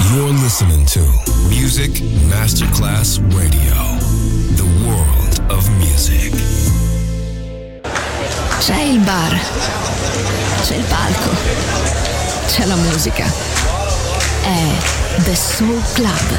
You're listening to Music Masterclass Radio, the world of music. C'è il bar, c'è il palco, c'è la musica. È The Soul Club.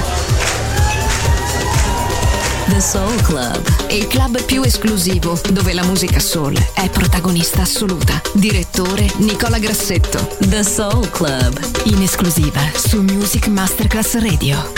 The Soul Club, il club più esclusivo dove la musica soul è protagonista assoluta. Direttore Nicola Grassetto. The Soul Club, in esclusiva su Music Masterclass Radio.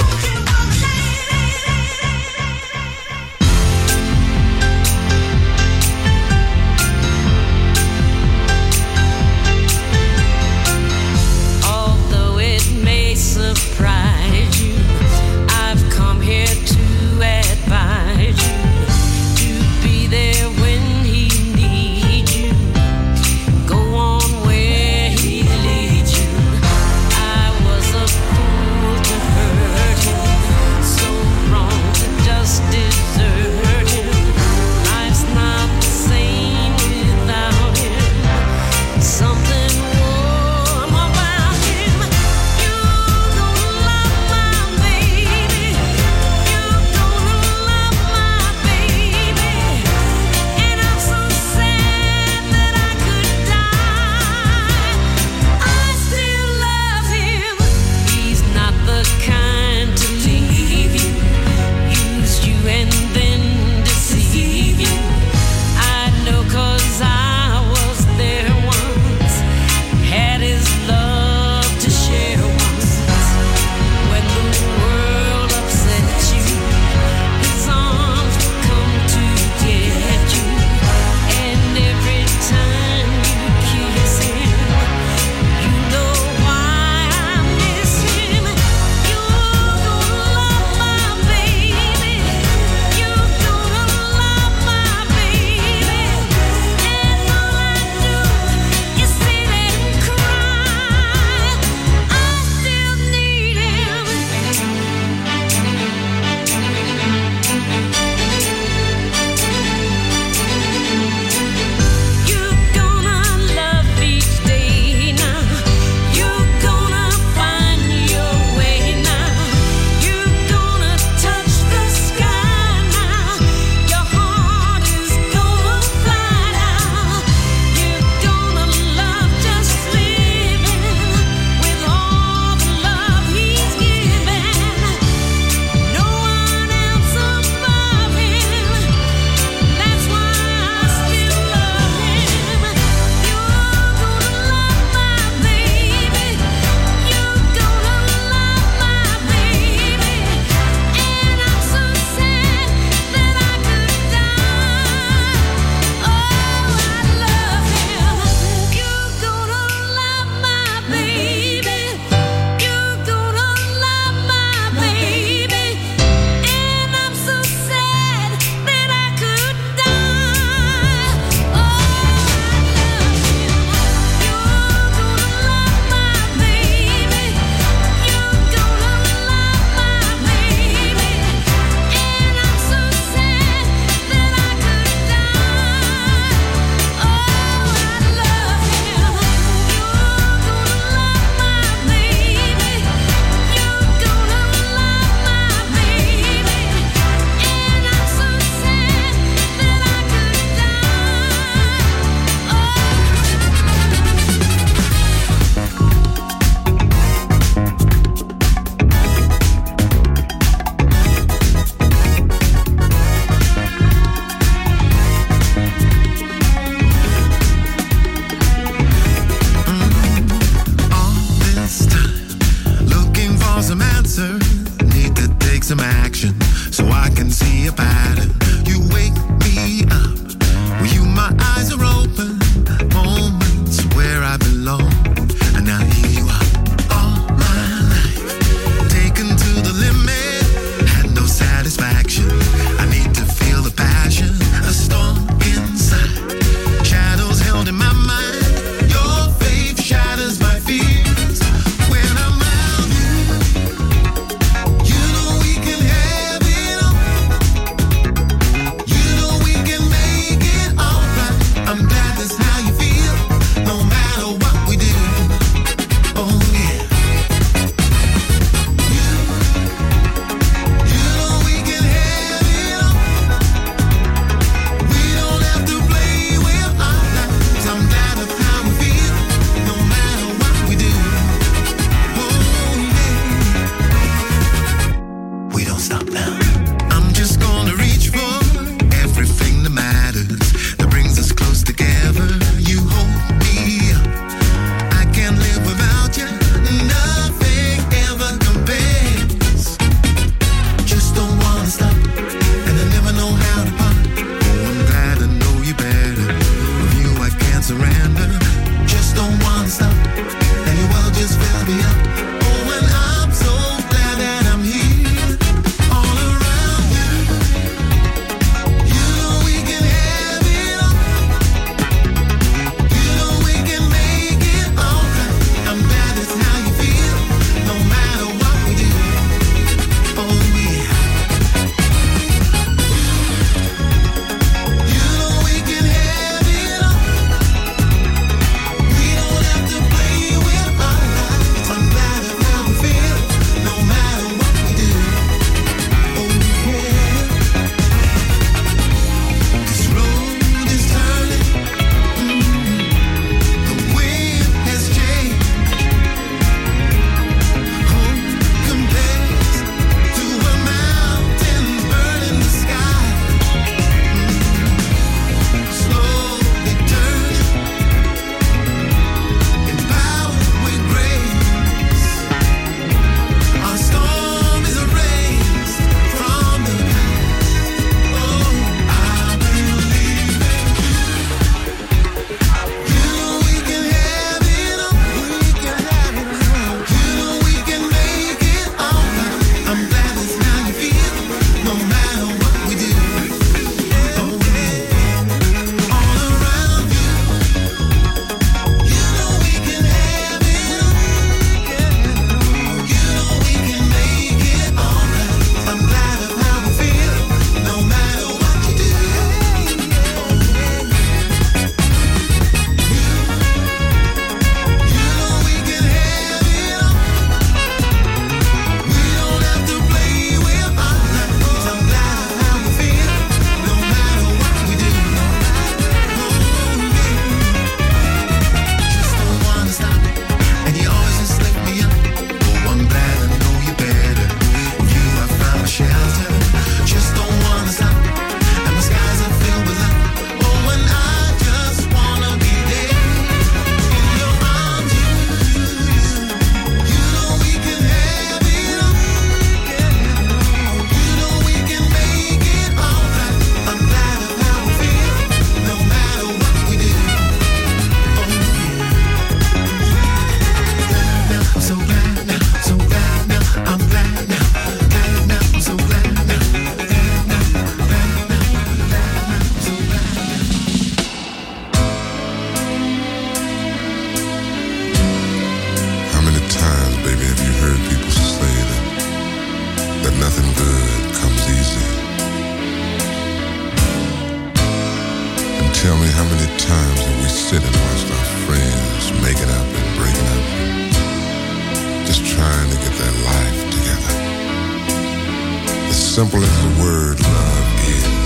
Tell me, how many times have we sit and watched our friends making up and breaking up, just trying to get their life together? As simple as the word love is,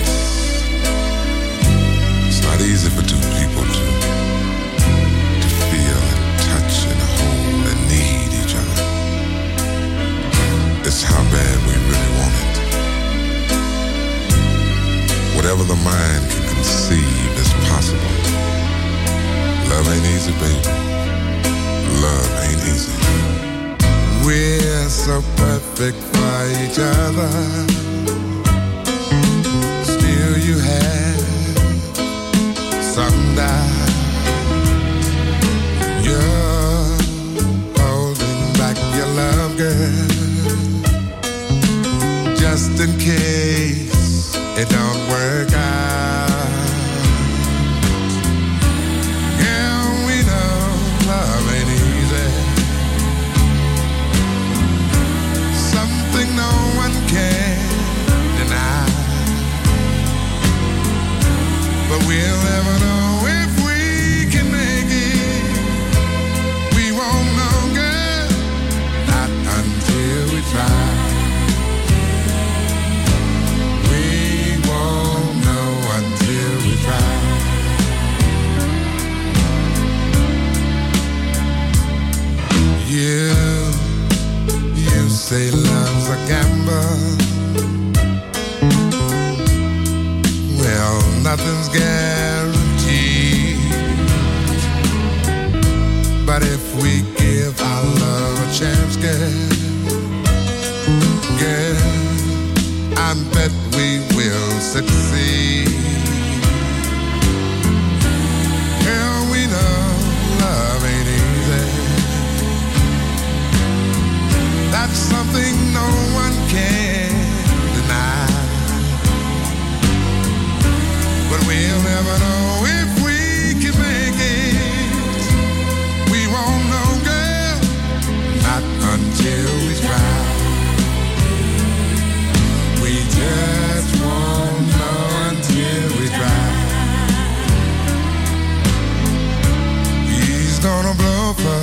it's not easy for two people to feel and touch and hold and need each other. It's how bad we really want it. Whatever the mind can conceive is possible. Love ain't easy, baby. Love ain't easy. We're so perfect for each other. Still you have some doubt. You're holding back your love, girl, just in case it don't work out. Yeah, we know love ain't easy. Something no one can deny. But we'll never know if we can make it. We won't know, girl, not until we try. You say love's a gamble. Well, nothing's guaranteed. But if we give our love a chance, girl, I bet we will succeed. Girl, we know love ain't easy. That's something no one can deny. But we'll never know if we can make it. We won't know, girl, not until we try. We just won't know until we try. He's gonna blow for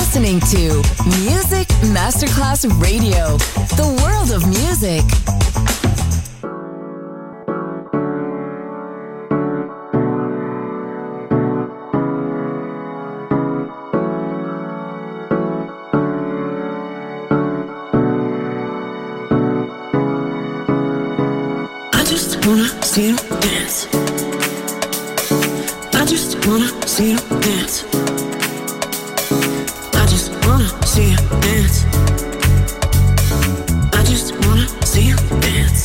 listening to Music Masterclass Radio, the world of music. I just wanna see you dance. I just wanna see you dance. I just wanna see you dance. I just wanna see you dance.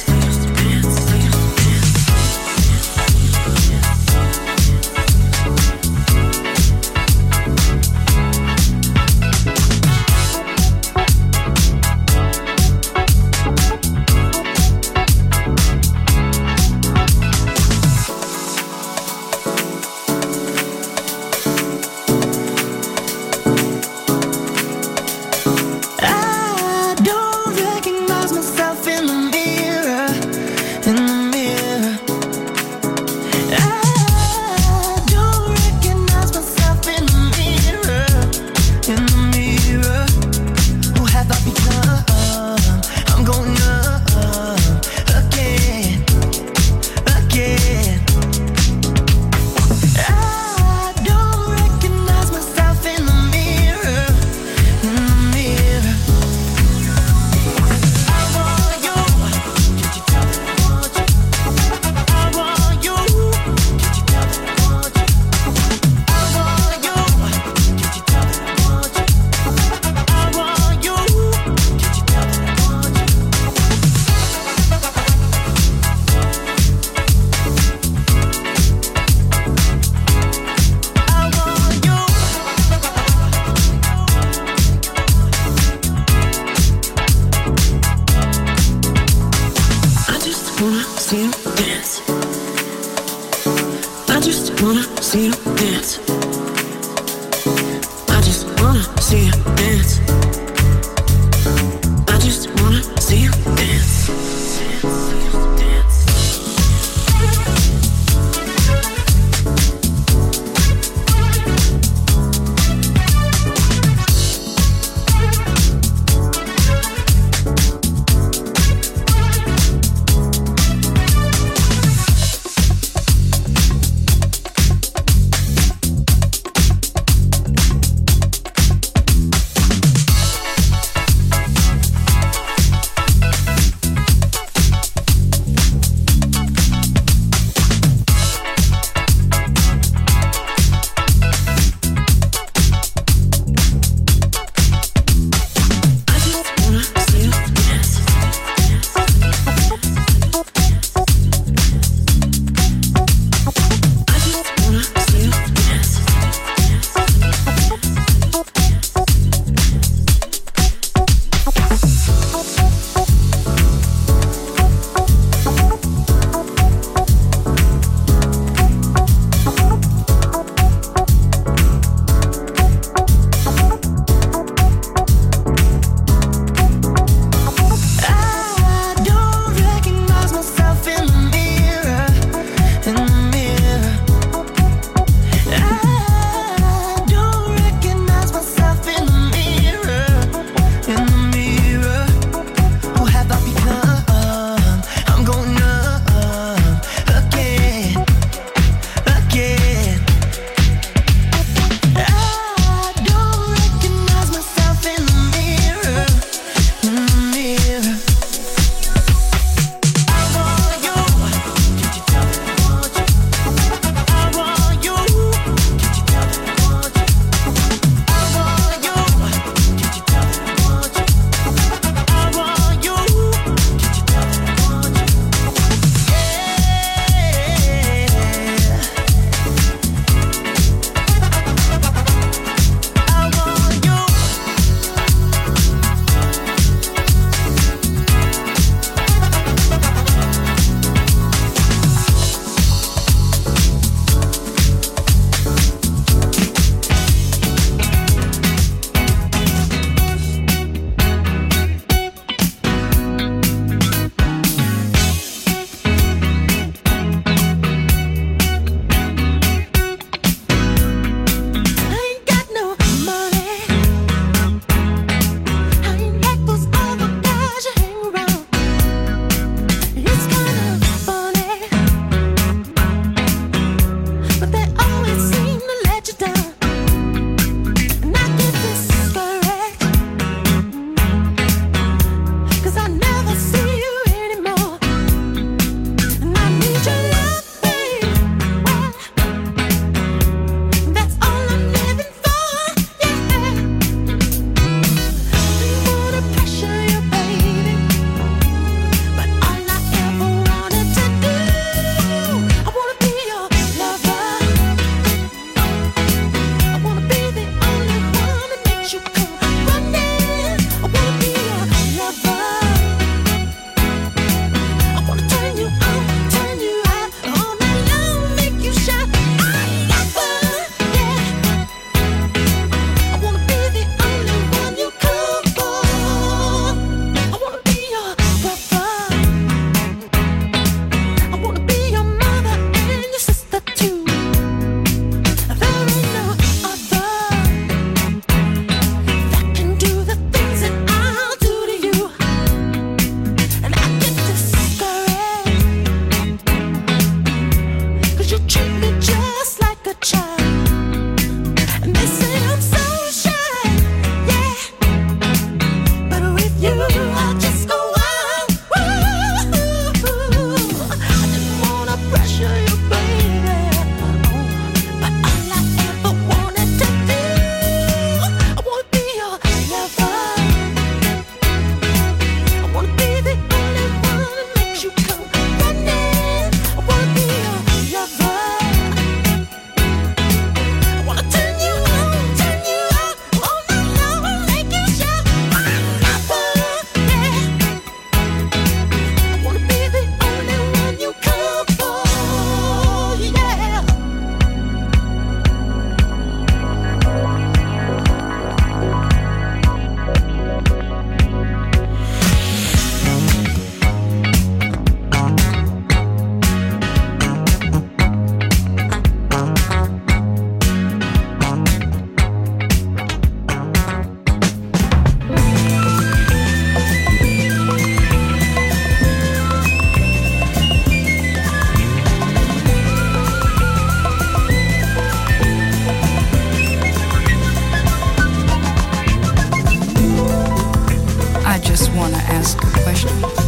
wanna ask a question.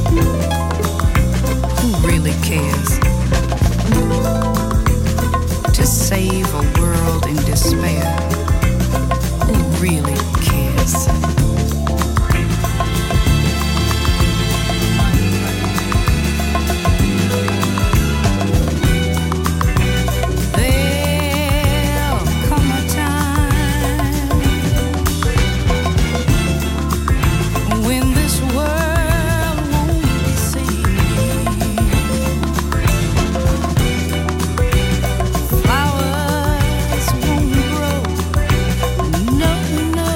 Who really cares? To save a world in despair, who really cares? No,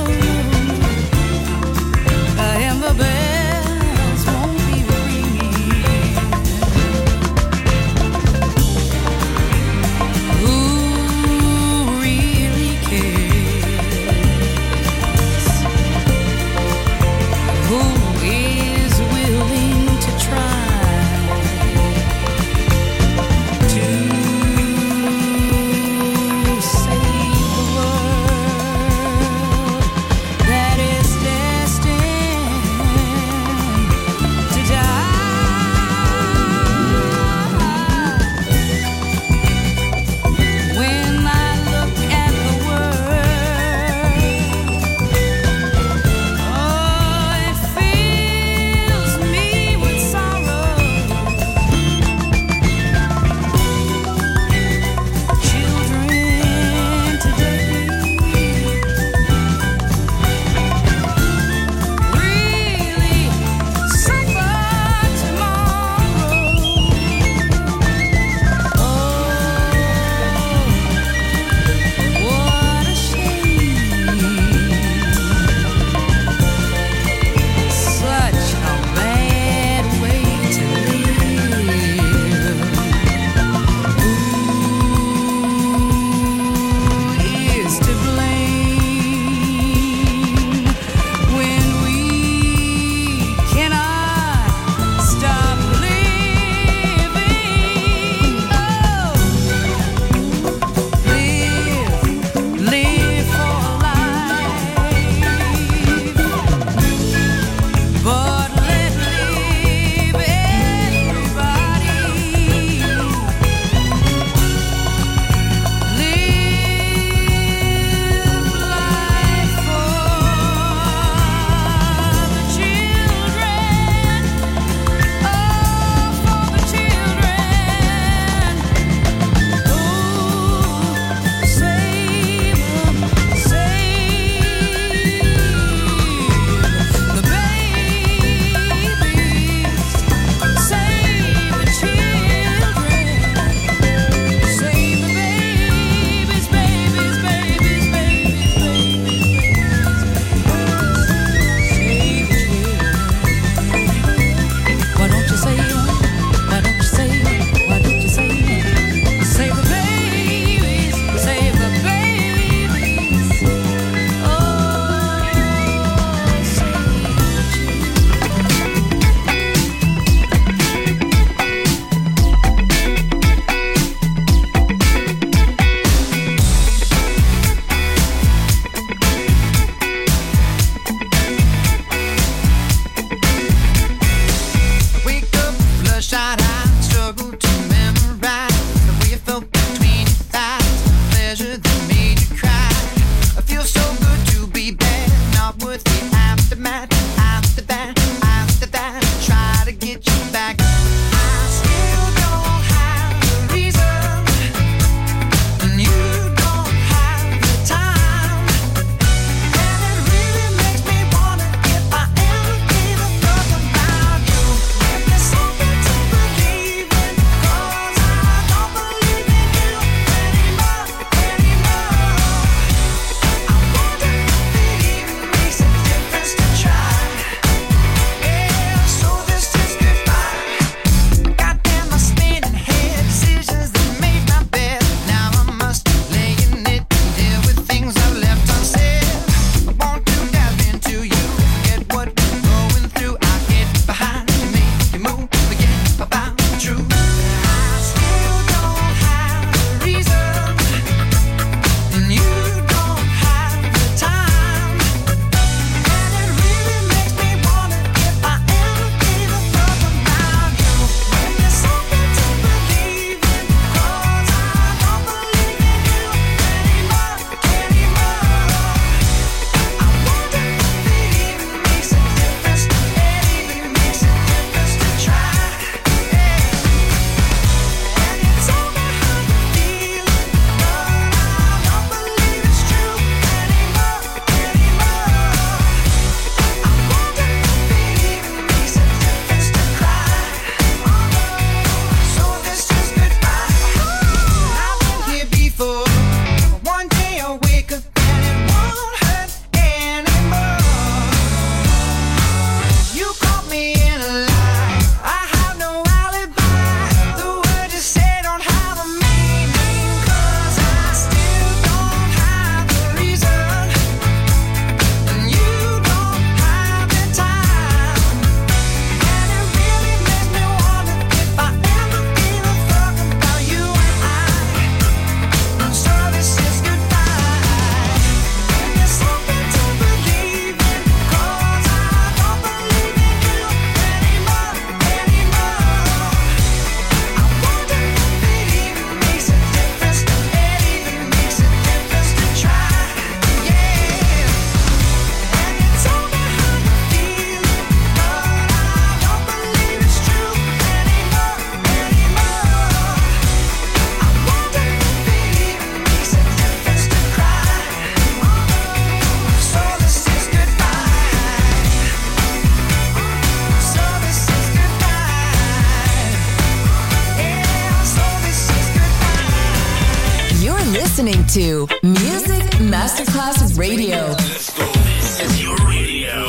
to Music Masterclass Radio. Let's go. This is your radio.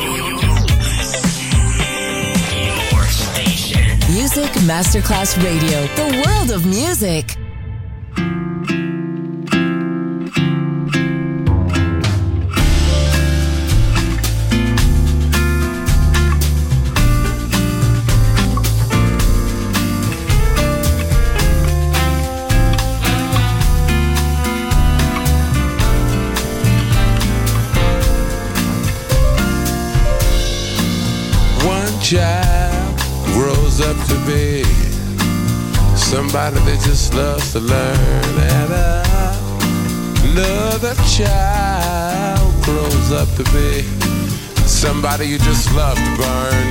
Your station. Music Masterclass Radio. The world of music. Child grows up to be somebody that just loves to learn, and another child grows up to be somebody you just love to burn.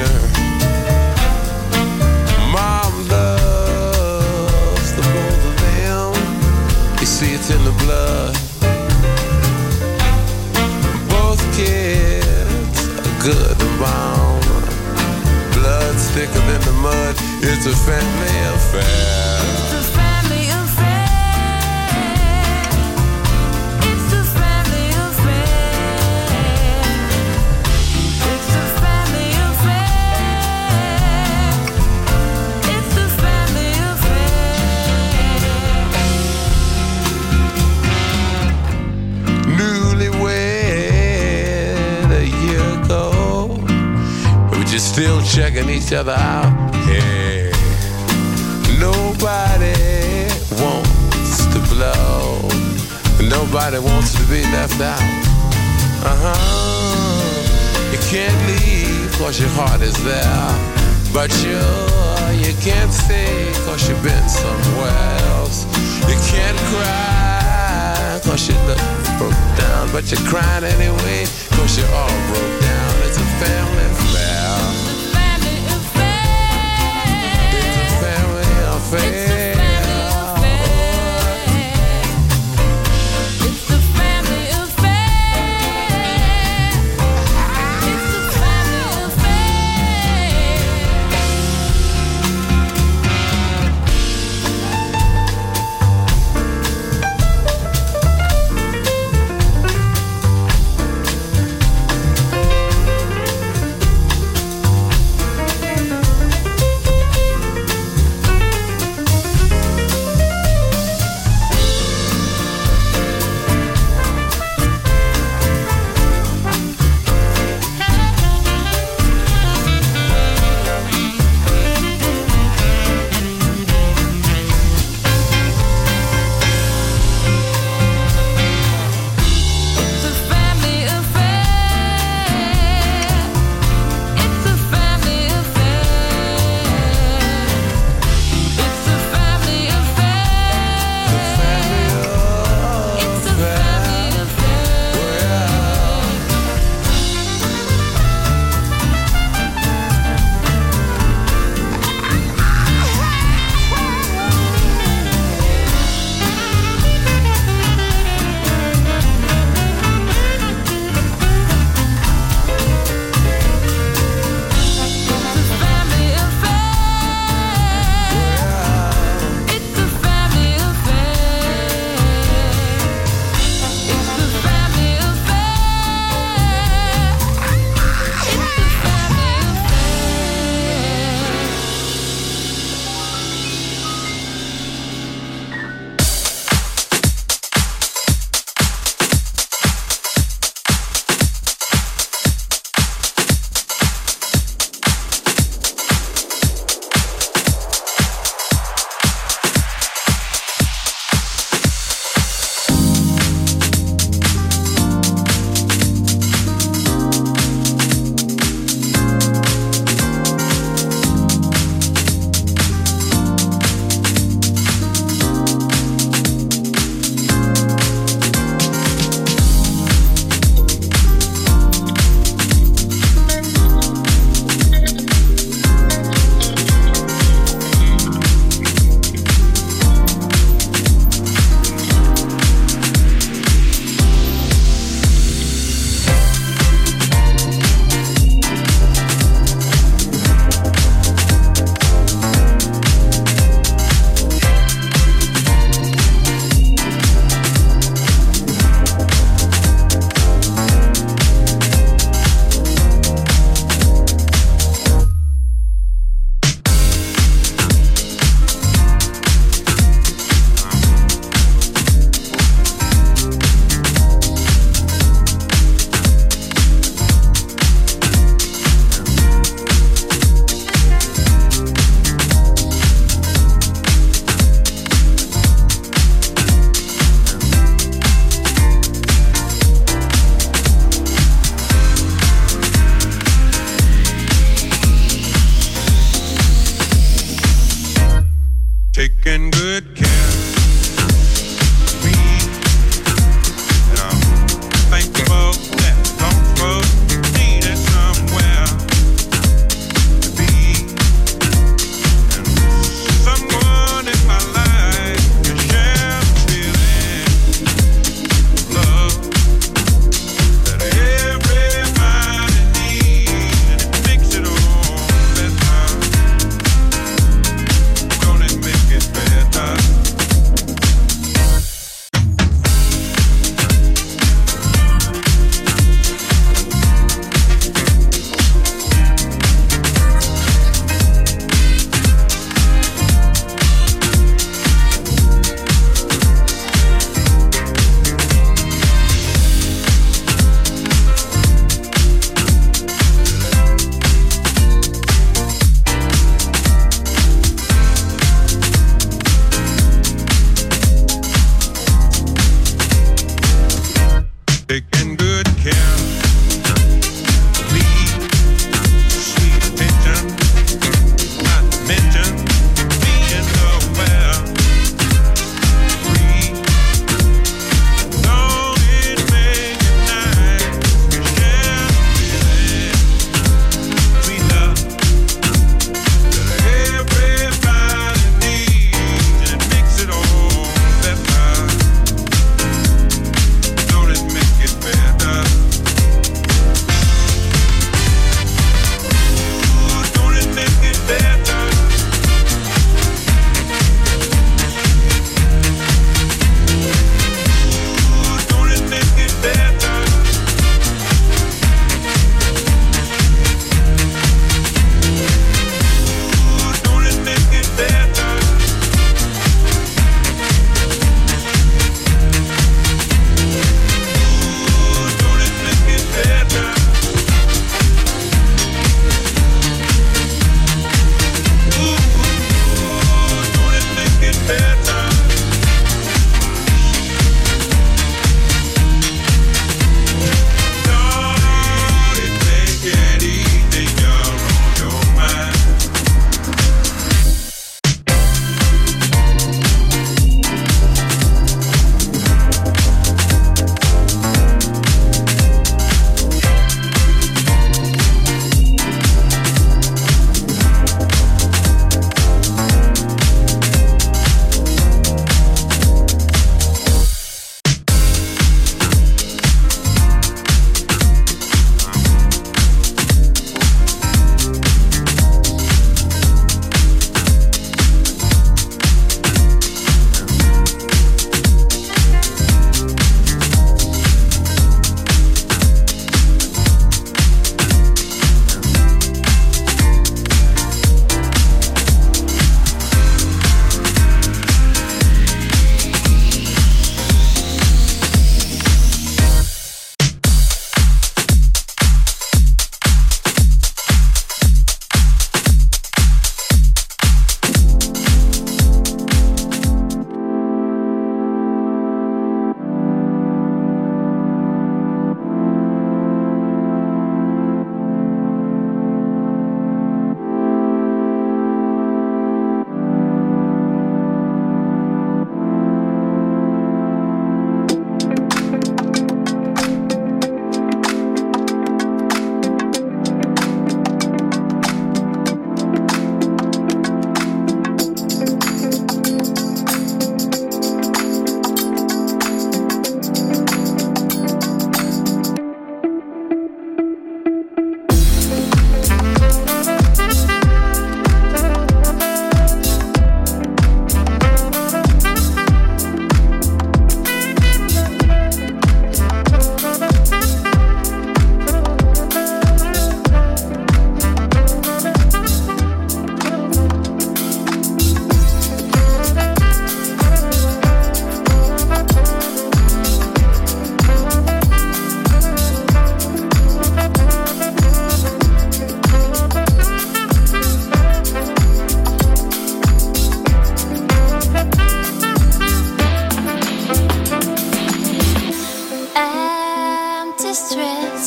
Mom loves the both of them. You see, it's in the blood. Both kids are good and bound. Blood's thicker than the mud. It's a family affair. It's a family affair. It's a family affair. It's a family affair. It's a family affair. Newlywed a year ago, just still checking each other out. Hey, nobody wants to blow. Nobody wants to be left out. You can't leave 'cause your heart is there, but you can't stay 'cause you've been somewhere else. You can't cry 'cause you look broke down, but you're crying anyway 'cause you're all broke down. It's a family affair. Affair. It's the family affair. It's the family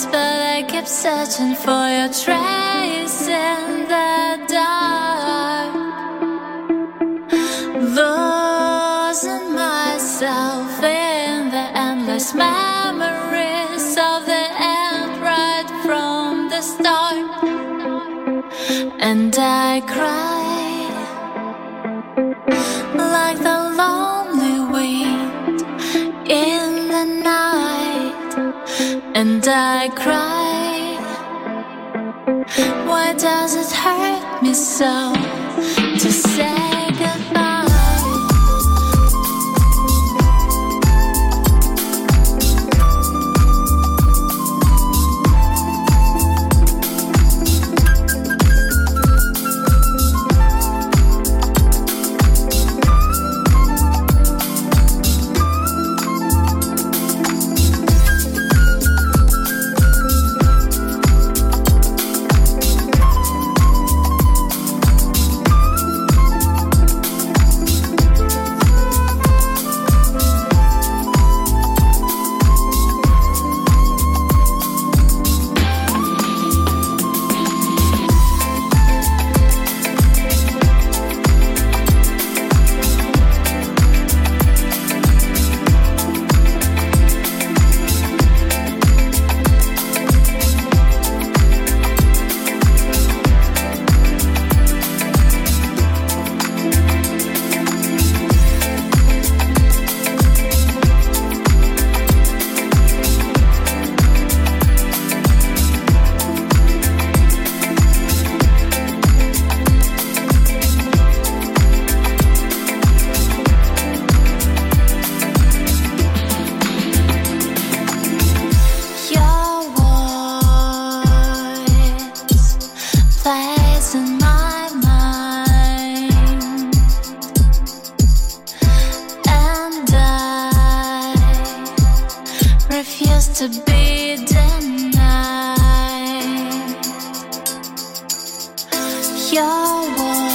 place, but I kept searching for your trace in the dark. Losing myself in the endless memories of the end right from the start. And I cried like the lonely wind in the night. And I cried, why does it hurt me so to say goodbye? To be denied. Your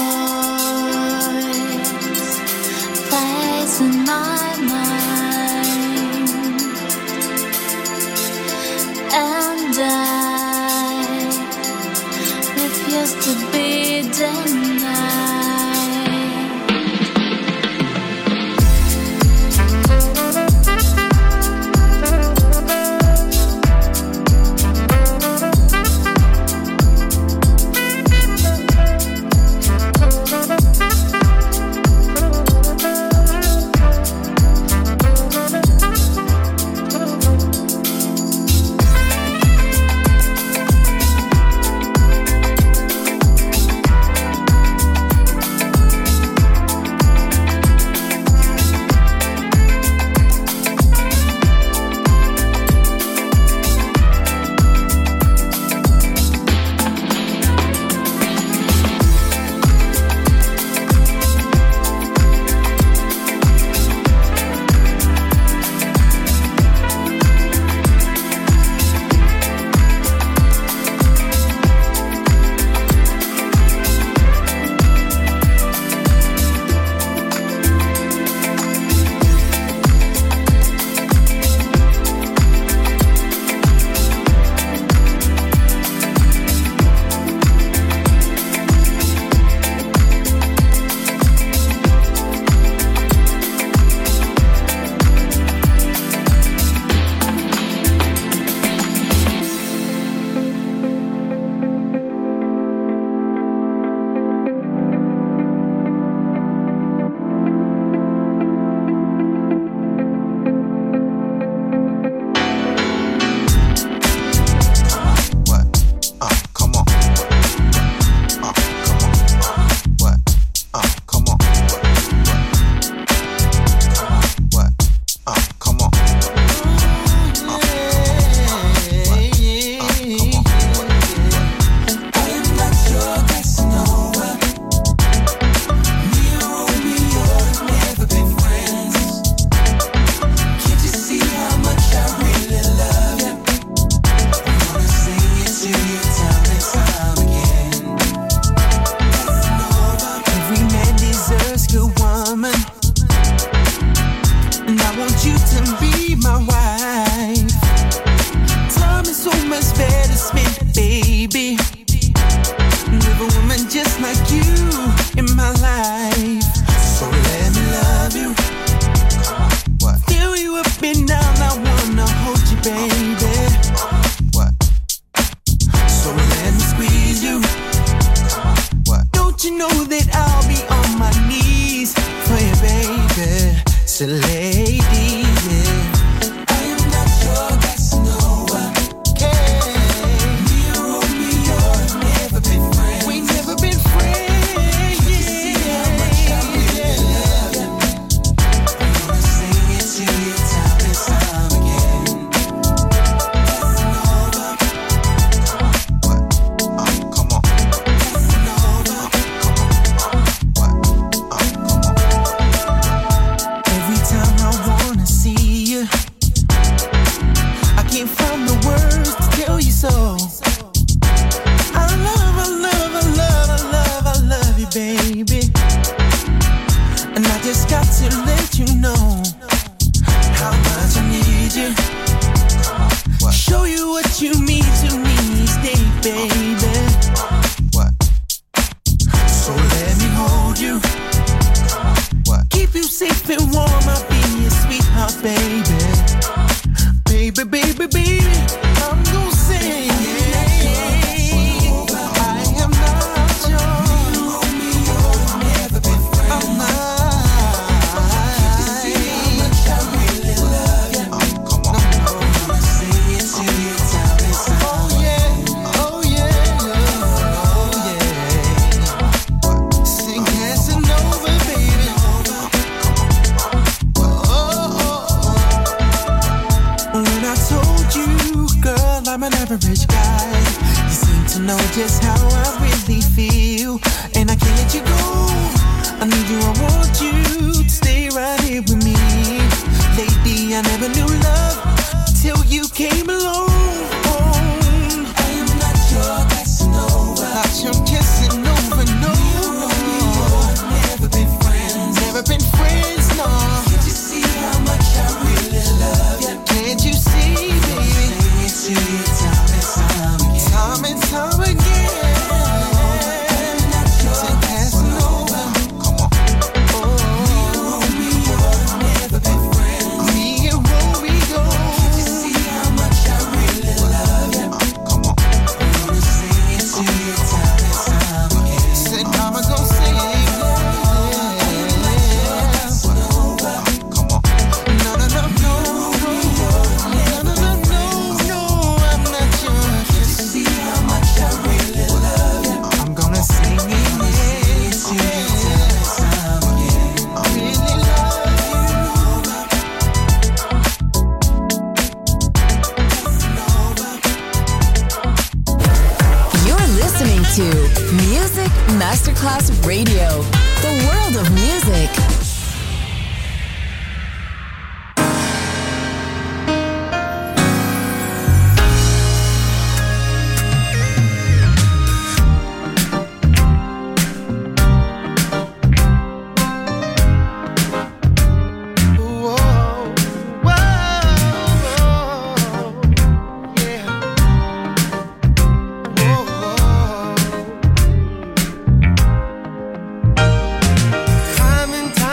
voice plays in my mind, and I refuse to be denied. is better spent, baby, with a woman just like you in my life. So let me love you. What? Fill you up and down, I wanna hold you, baby. What? So let me squeeze you. What? Don't you know that I'll be on my knees for you, baby? So lady, yeah. I am not your Casanova. Okay. Me or Romeo, never been friends. We never been friends. Yeah. See how much I really love you. I'm gonna sing it to you time and time again. Casanova. What? Come on. Casanova. What? Come on. Every time I wanna see you, I can't find the words to tell you so. I love you, baby. And I just got to let you know how much I need you. Show you what you mean to me each day, baby. What? So let me hold you. What? Keep you safe and warm, I'll be your sweetheart, baby. Baby, baby, baby, I'm gonna say I am not yours. Never been friends. I'm not. See how much I really love you. Come on, I'm gonna sing it to you time and time. Oh yeah, oh yeah, oh yeah. Sing Casanova, baby. When I told you, girl, I'm an average guy, you seem to know just how I really feel, and I can't let you go. I need you, I want you to stay right here with me. Lady, I never knew love till you came along. I am not your Casanova. Not your Casanova, no. Never been friends. Never been friends, no. Can't you see how much I really love you? Can't you see, baby? Sing it to you time and time again. Time and time again. I'm not your Casanova. Come on. Oh, me and Romeo, never been friends. Me and Romeo. Can't you see how much I really love you? Come on. I'm gonna sing it to you time and time again. Said I'm gonna sing it. Come on. No, no, no, no, no, no, no, no, no, I'm not yours. You see how much I really love you. I'm gonna sing it to you time and time again. I really love you. You're listening to Music Masterclass Radio, the world of music. Whoa, whoa, yeah. Whoa, whoa. Time and time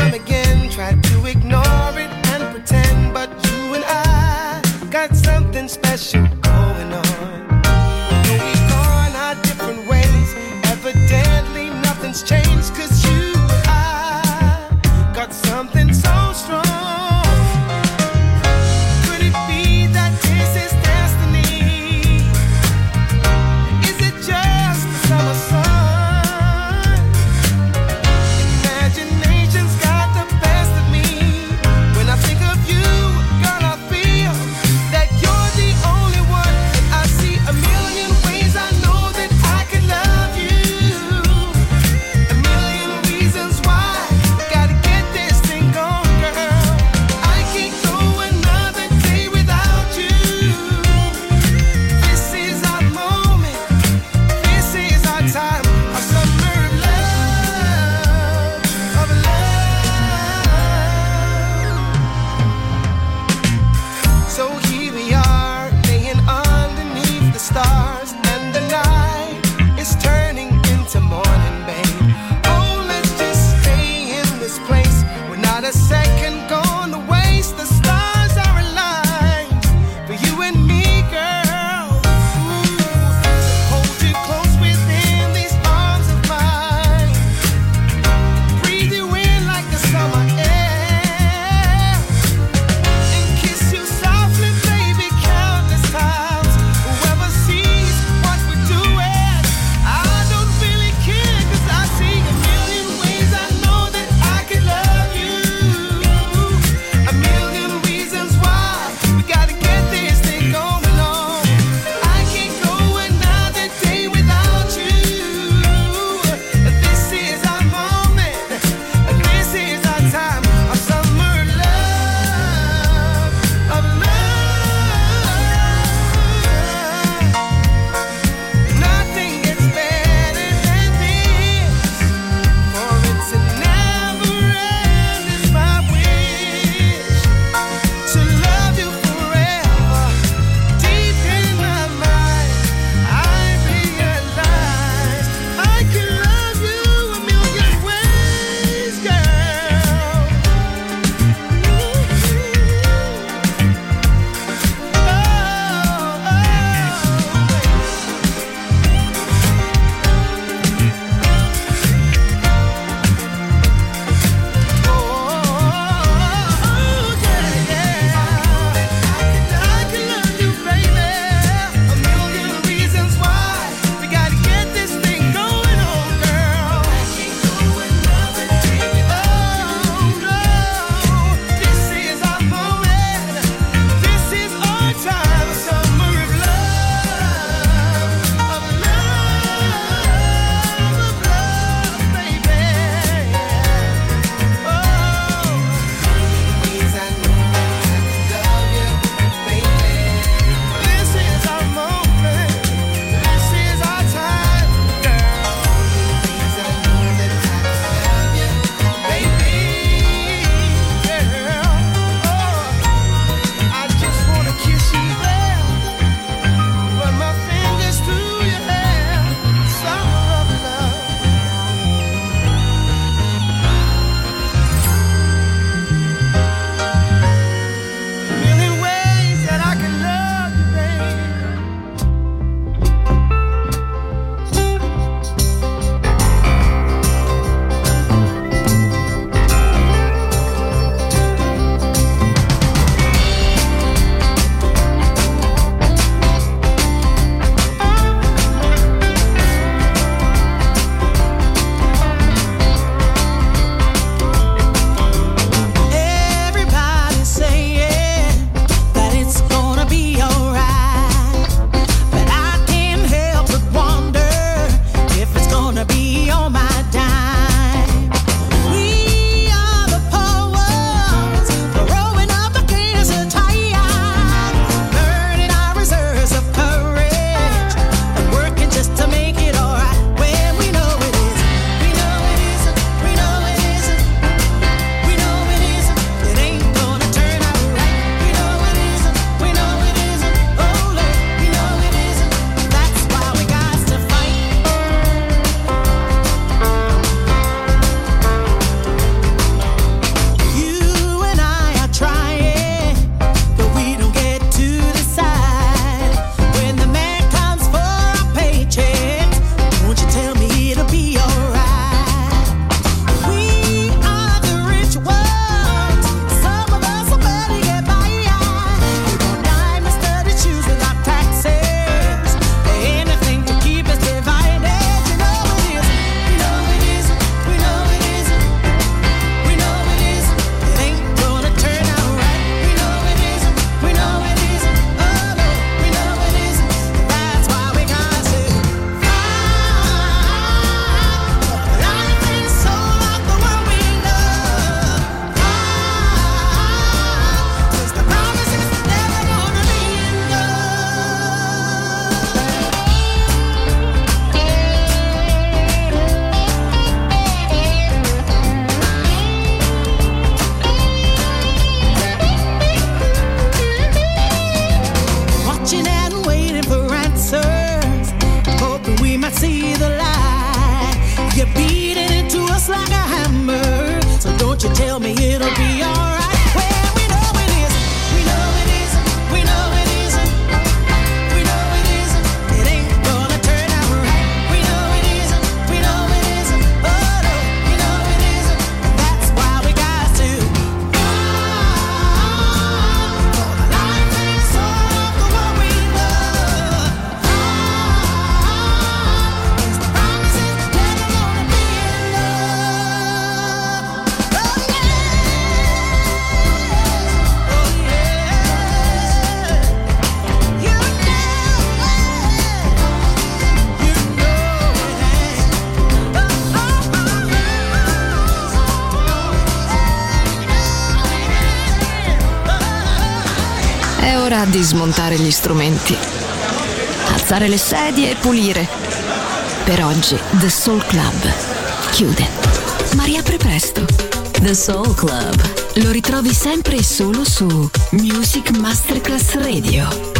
di smontare gli strumenti, alzare le sedie e pulire. Per oggi The Soul Club chiude, ma riapre presto. The Soul Club lo ritrovi sempre e solo su Music Masterclass Radio.